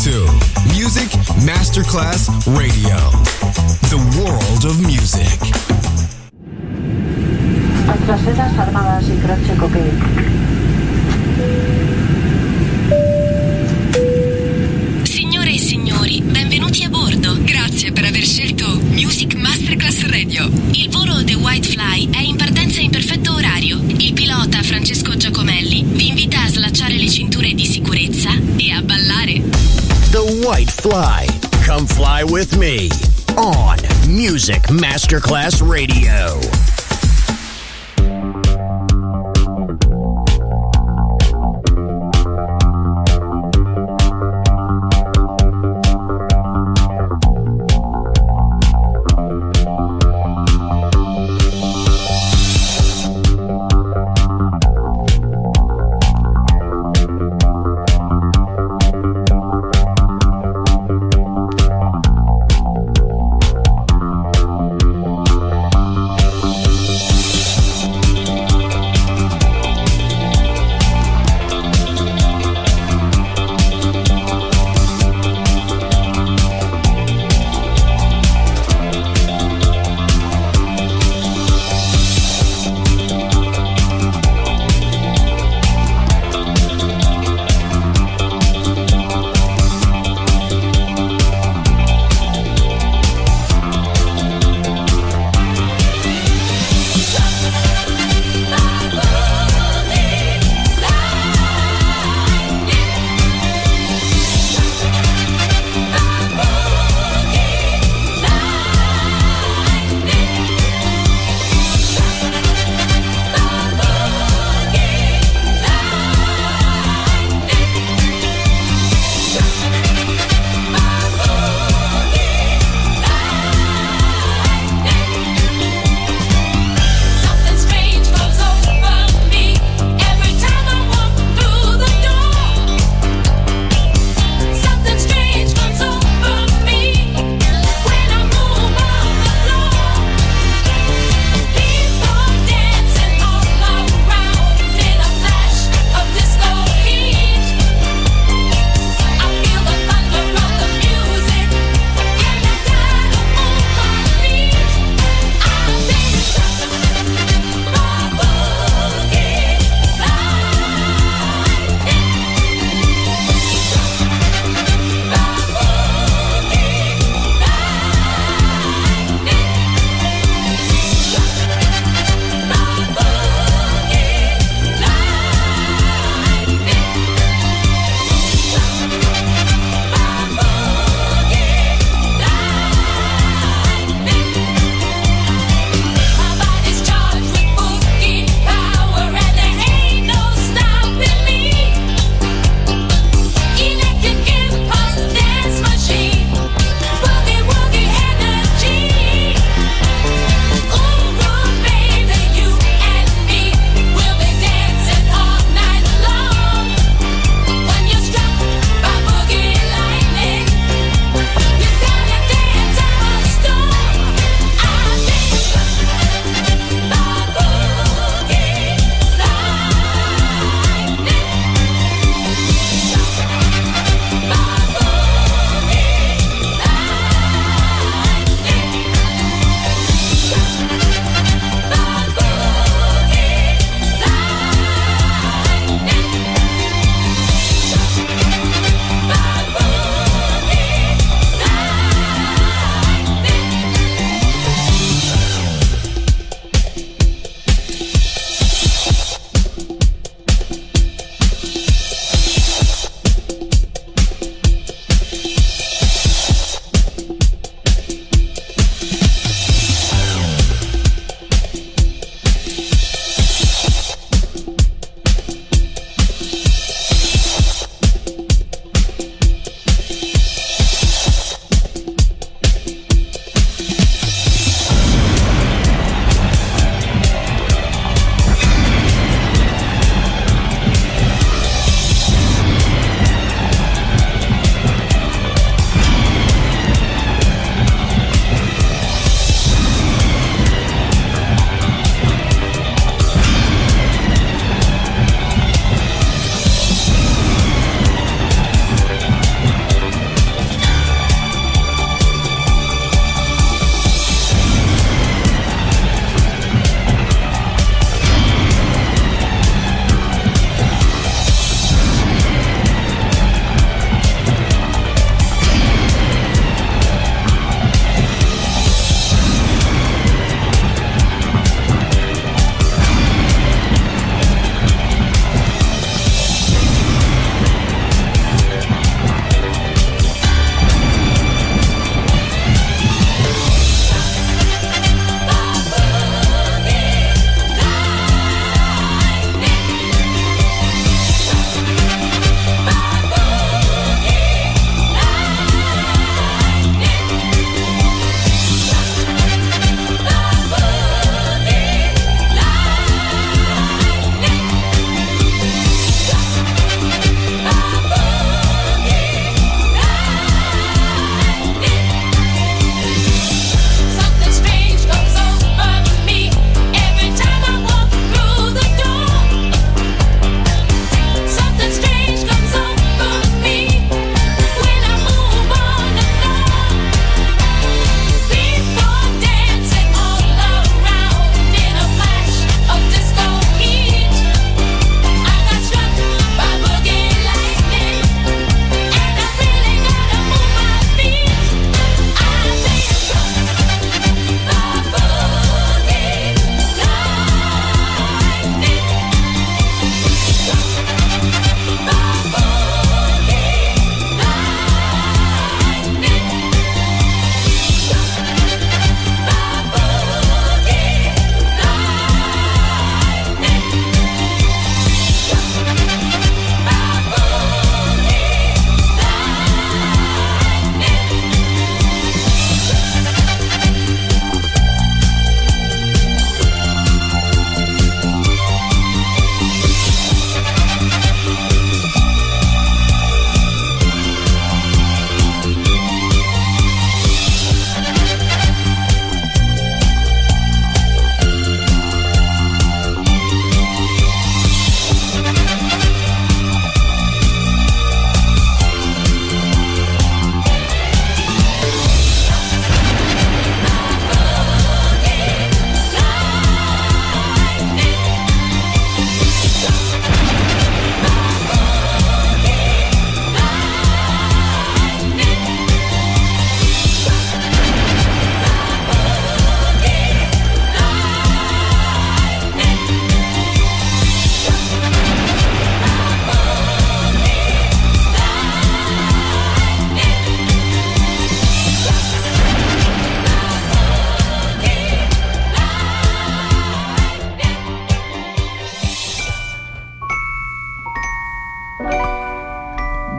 to Music Masterclass Radio, the world of music. Antrasedas armadas y croce cocaine. Signore e signori, benvenuti a bordo. Grazie per aver scelto Music Masterclass Radio. Il volo The White Fly è in partenza in perfetto orario. Il pilota Francesco Giacomelli vi invita a slacciare le cinture di sicurezza e a ballare. The White Fly. Come fly with me on Music Masterclass Radio.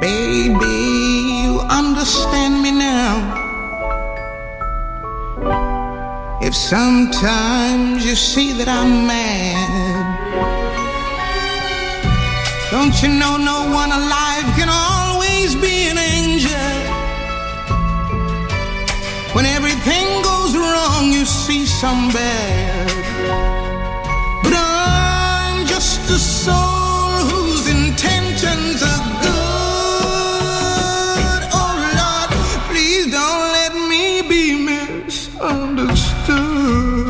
Baby, you understand me now. If sometimes you see that I'm mad, don't you know no one alive can always be an angel? When everything goes wrong, you see some bad. But I'm just a soul whose intentions are good. Oh Lord, please don't let me be misunderstood.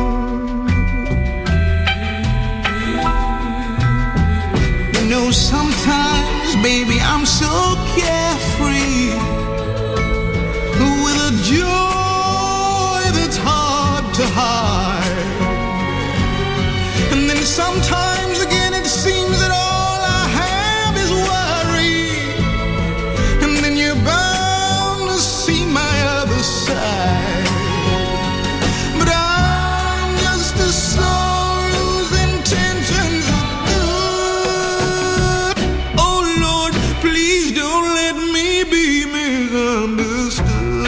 You know, sometimes, baby, I'm so carefree, with a joy that's hard to hide. And then sometimes again it seems that all I have is worry. And then you're bound to see my other side. But I'm just a soul whose intentions are good. Oh Lord, please don't let me be misunderstood.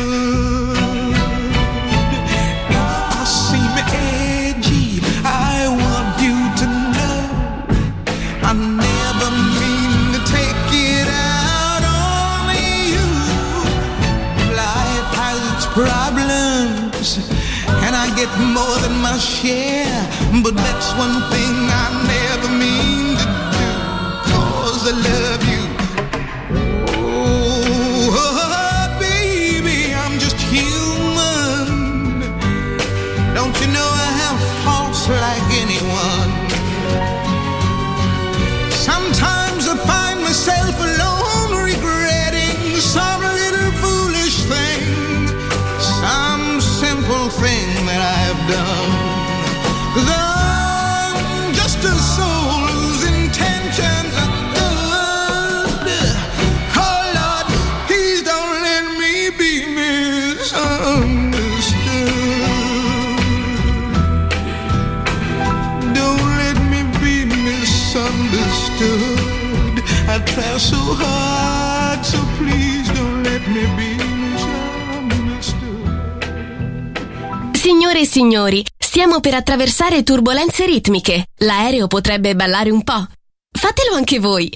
Get more than my share, but that's one thing I never mean to do, 'cause I love you. Oh, baby, I'm just human. Don't you know I have faults like anyone? Sometimes I find myself alone regretting some little foolish thing, some simple thing that I've done. 'Cause I'm just a soul whose intentions are good. Oh Lord, please don't let me be misunderstood. Don't let me be misunderstood. I try so hard, so please don't let me be misunderstood. Signore e signori, stiamo per attraversare turbolenze ritmiche. L'aereo potrebbe ballare un po'. Fatelo anche voi.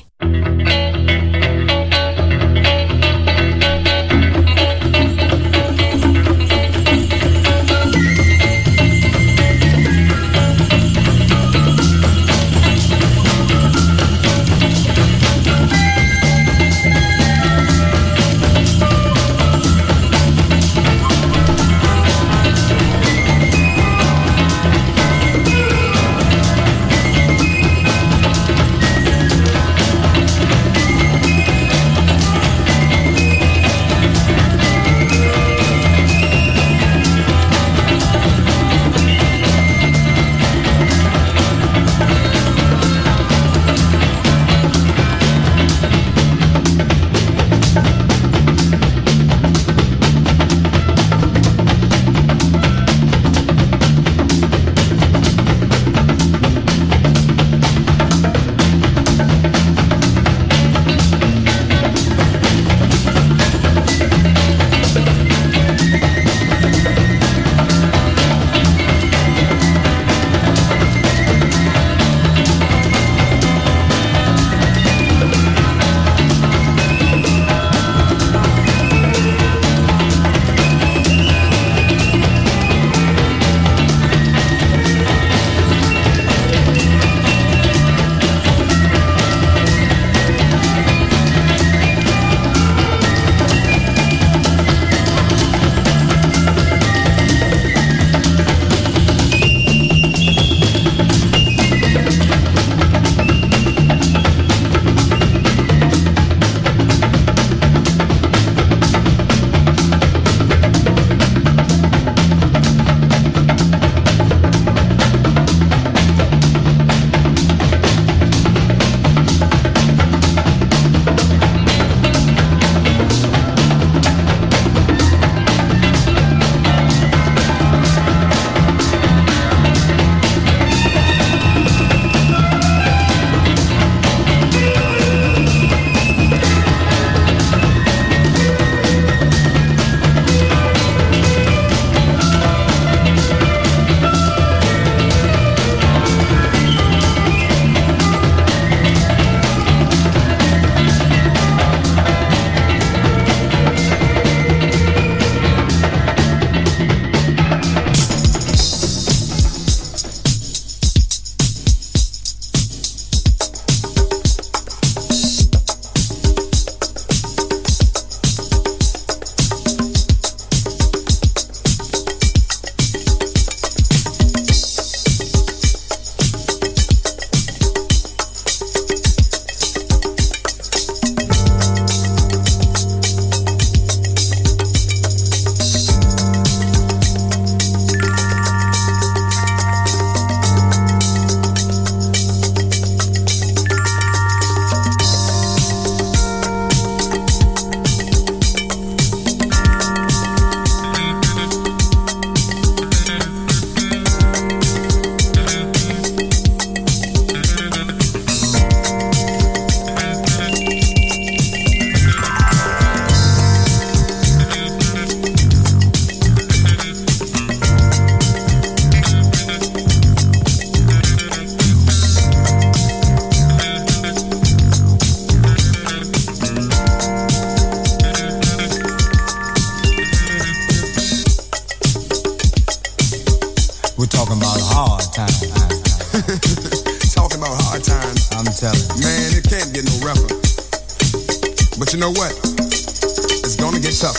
But you know what? It's gonna get tougher.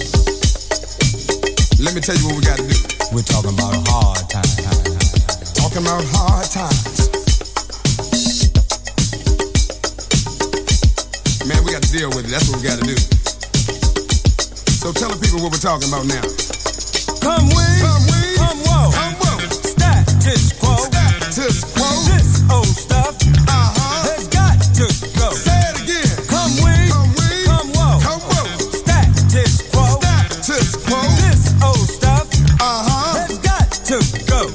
Let me tell you what we gotta do. We're talking about hard times. Talking about hard times. Man, we got to deal with it. That's what we got to do. So tell the people what we're talking about now. Come win, come whoa, status quo, status quo. This old stuff, has got to go. Say it again. Come win, come whoa, status quo, status quo. This old stuff, has got to go.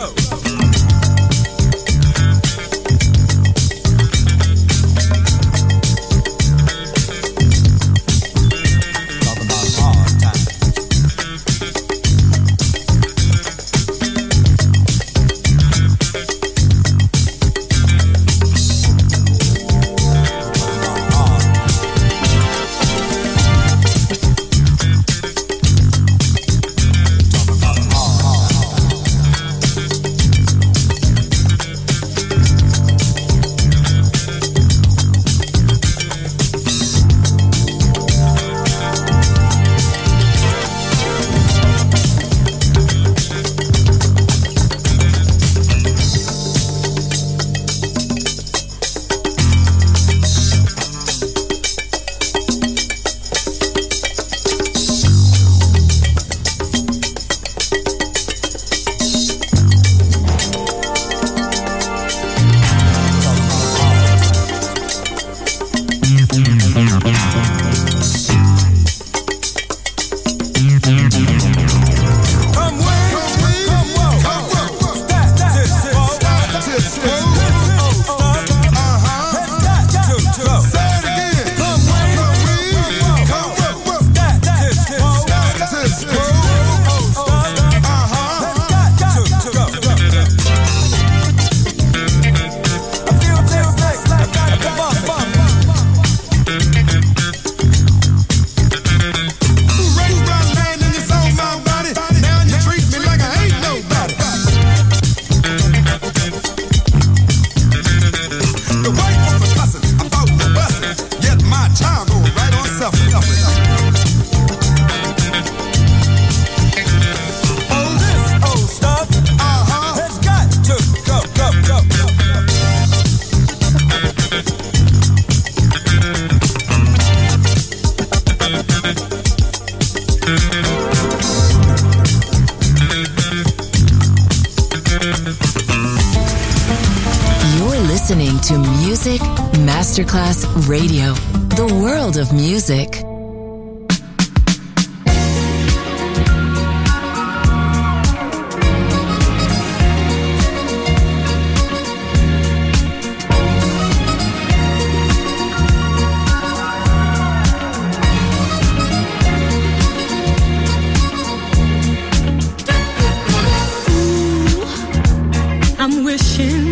To Music Masterclass Radio, the world of music. I'm wishing,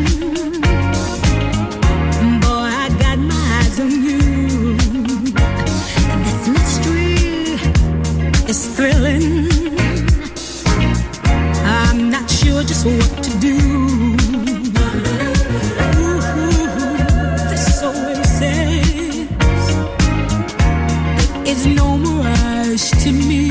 boy, I got my eyes on you. This mystery is thrilling. I'm not sure just what to do. Ooh, this oasis is no mirage to me.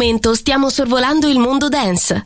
momento stiamo sorvolando il mondo dance.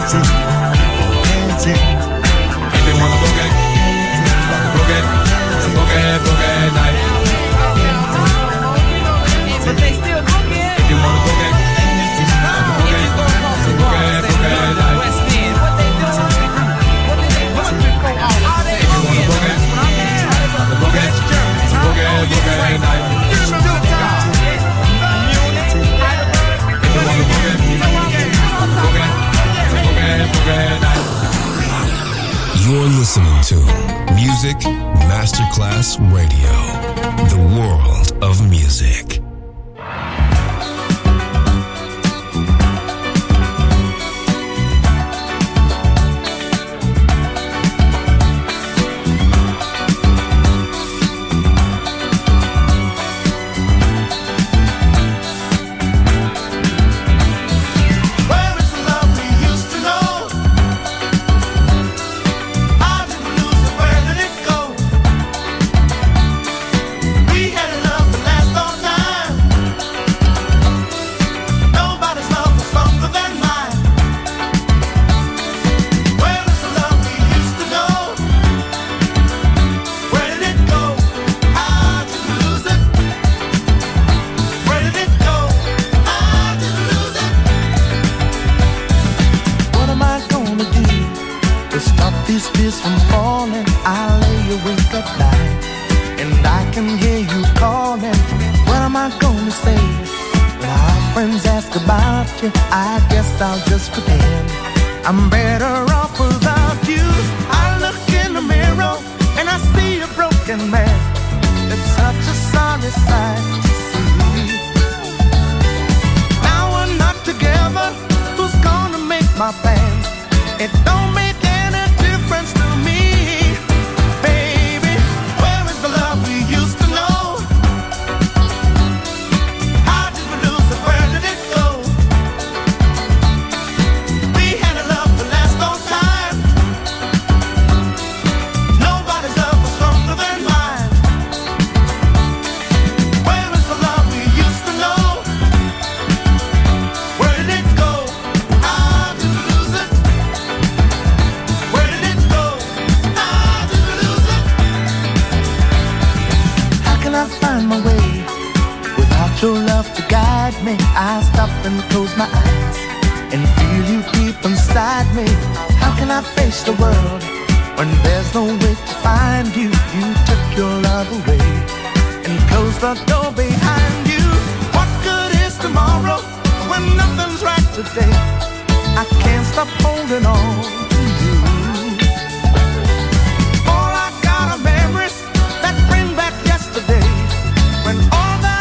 You're listening to Music Masterclass Radio, the world of music. I guess I'll just pretend I'm better off without you. I look in the mirror and I see a broken man. It's such a sorry sight to see. Now we're not together. Who's gonna make my plans? It don't make any difference to me. Baby, where is the love we used to know? How did we lose it? Where did it go? Your love to guide me. I stop and close my eyes and feel you deep inside me. How can I face the world when there's no way to find you? You took your love away and closed the door behind you. What good is tomorrow when nothing's right today? I can't stop holding on to you. All I got are memories that bring back yesterday when all that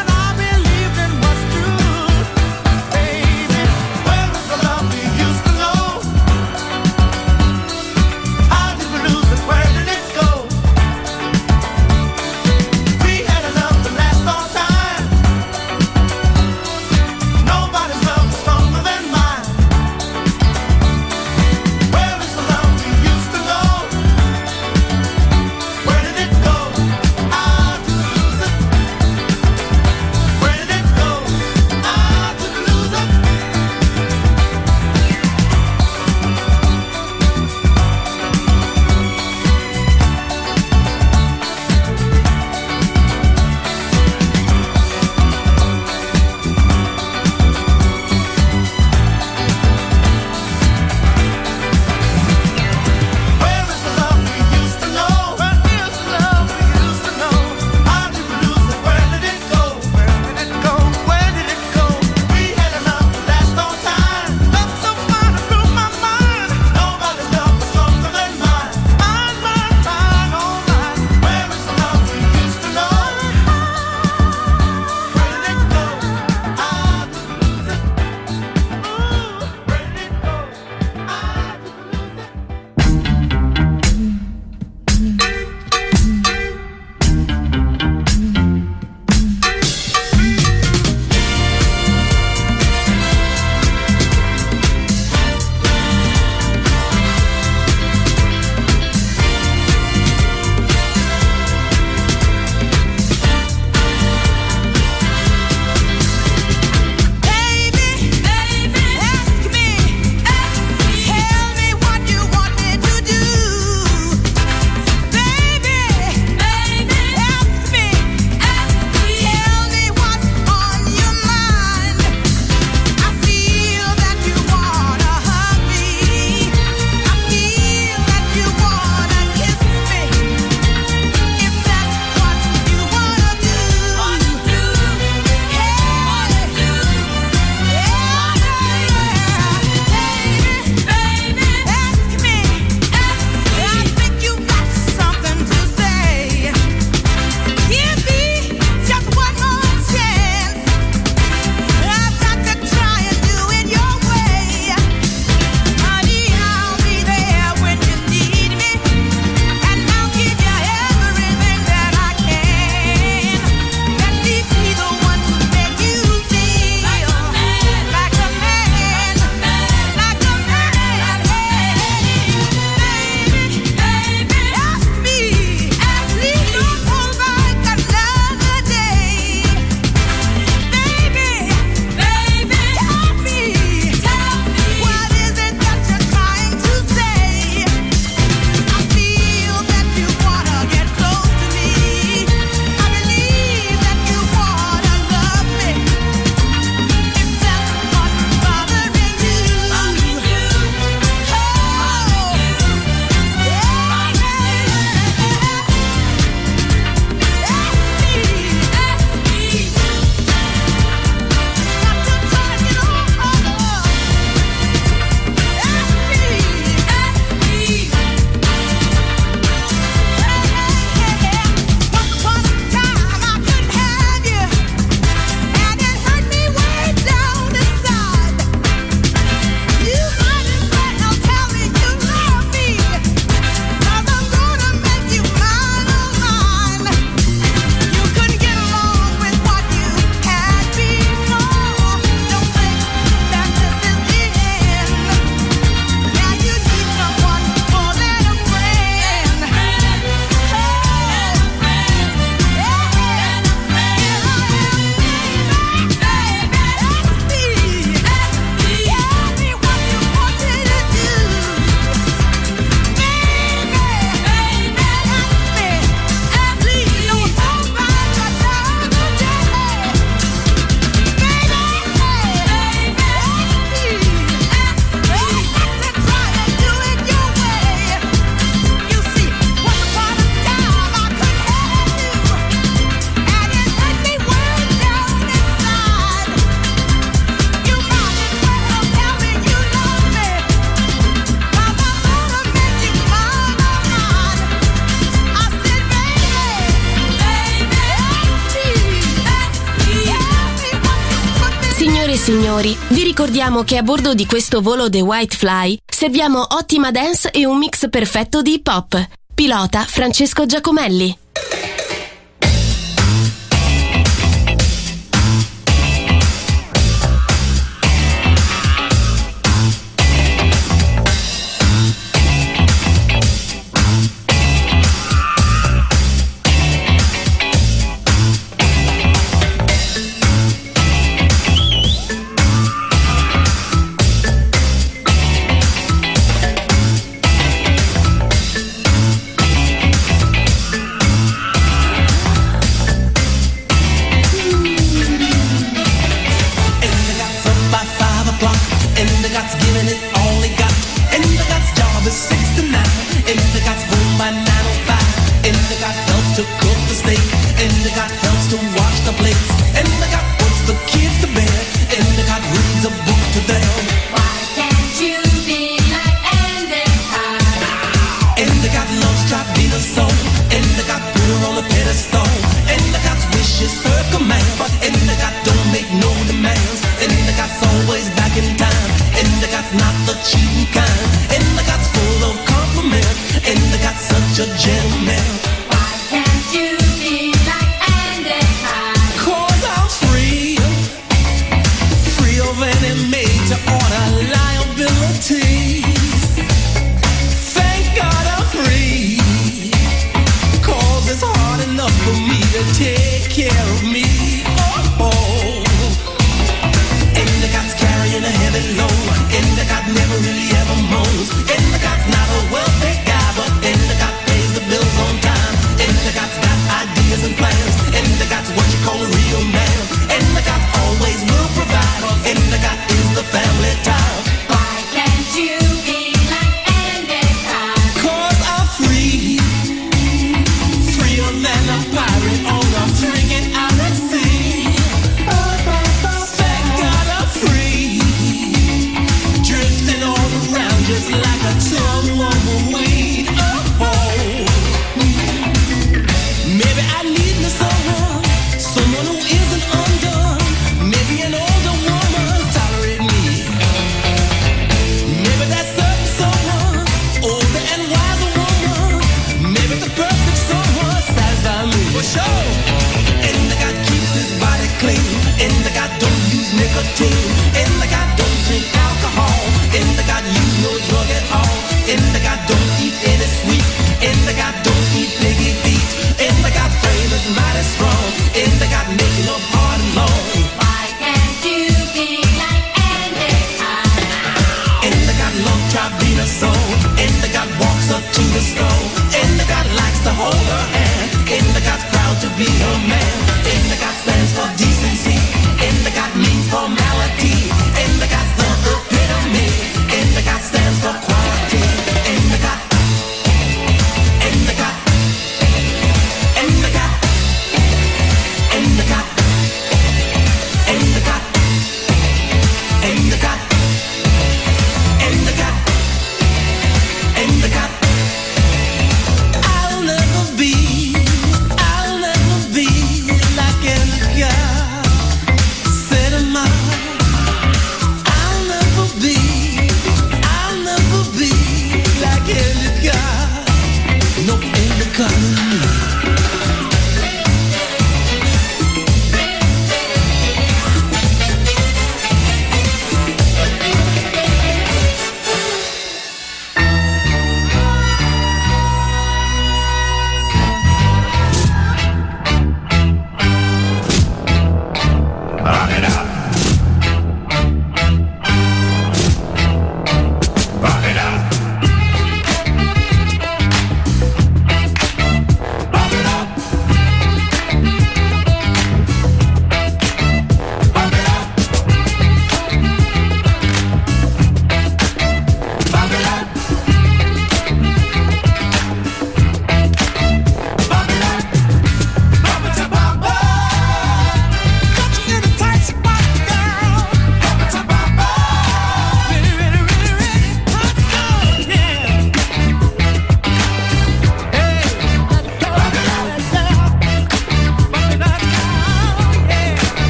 signori, vi ricordiamo che a bordo di questo volo The White Fly serviamo ottima dance e un mix perfetto di hip hop. Pilota Francesco Giacomelli.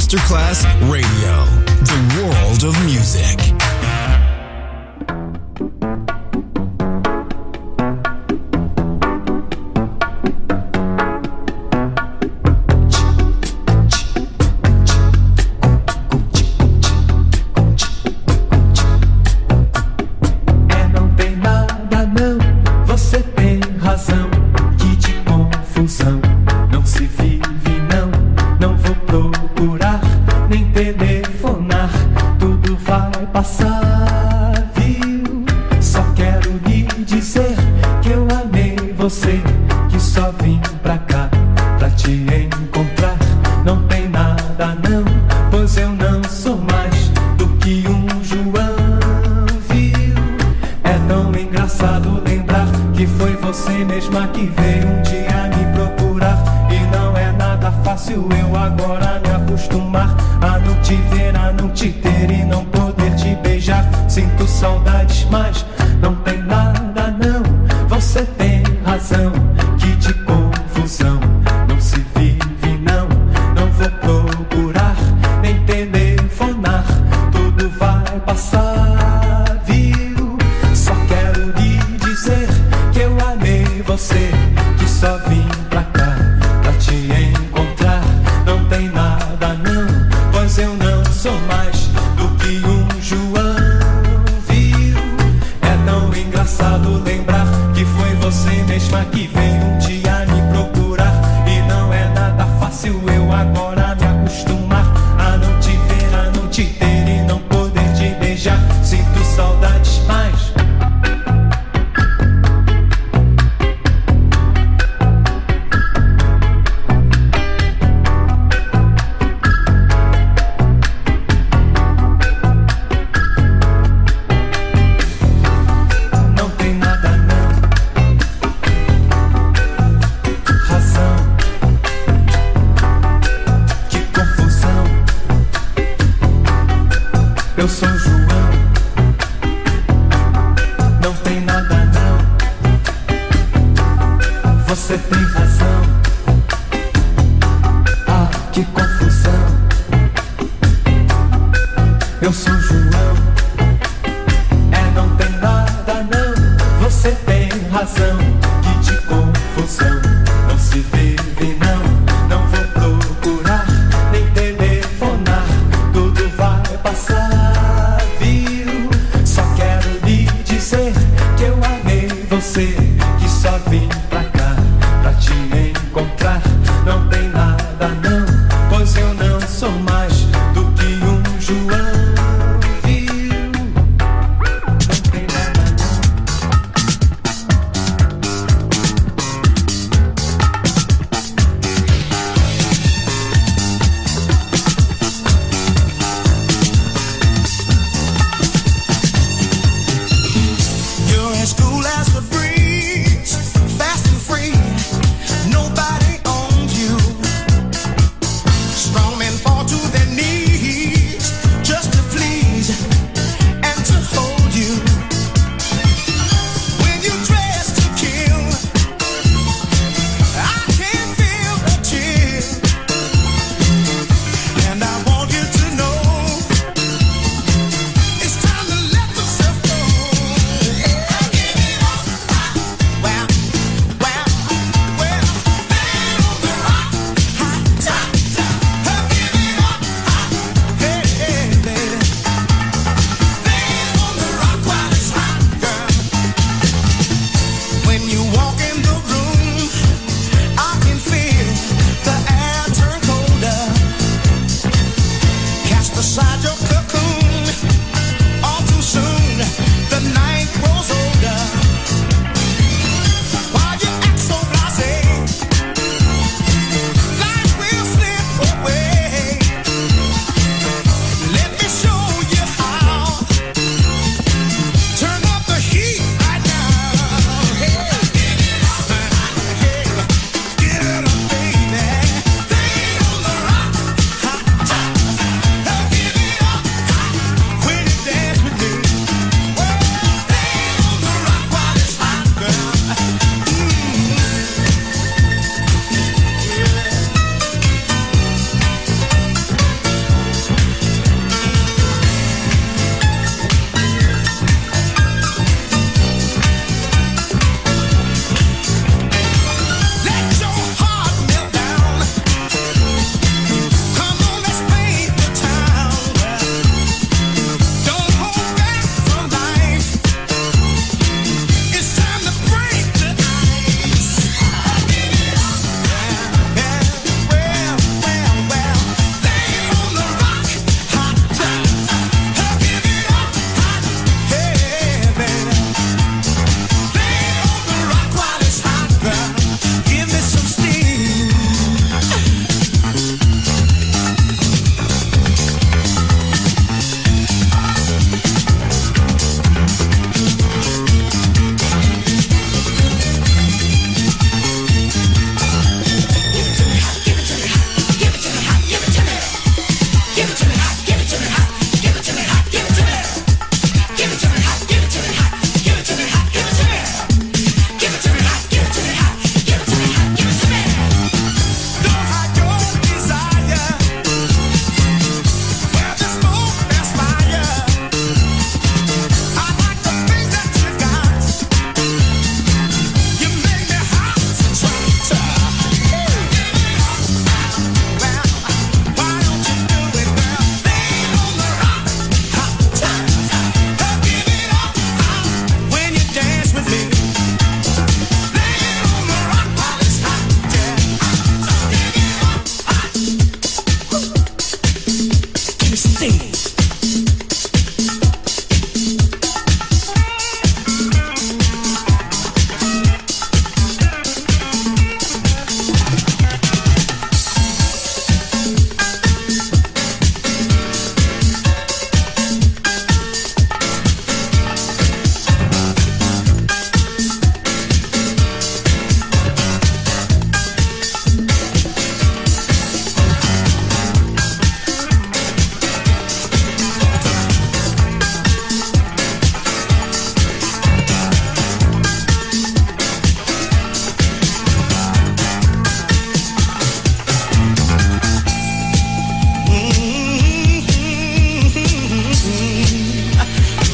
Masterclass Radio, the world of music. Eu sou João.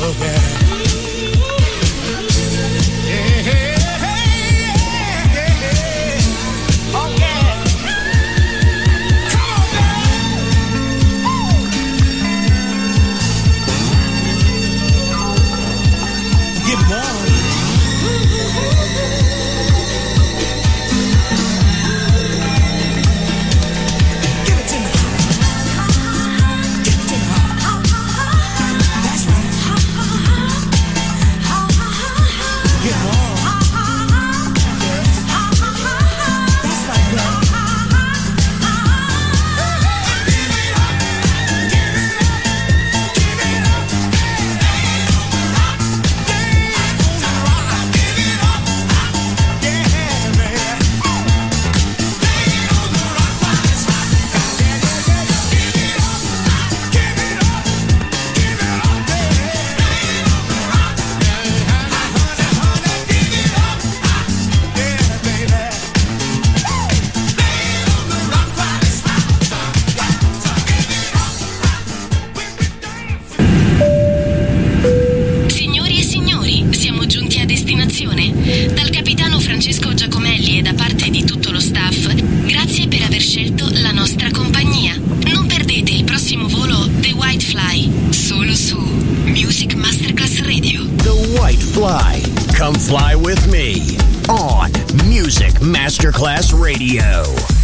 Dal capitano Francesco Giacomelli e da parte di tutto lo staff, grazie per aver scelto la nostra compagnia. Non perdete il prossimo volo The White Fly, solo su Music Masterclass Radio. The White Fly. Come fly with me on Music Masterclass Radio.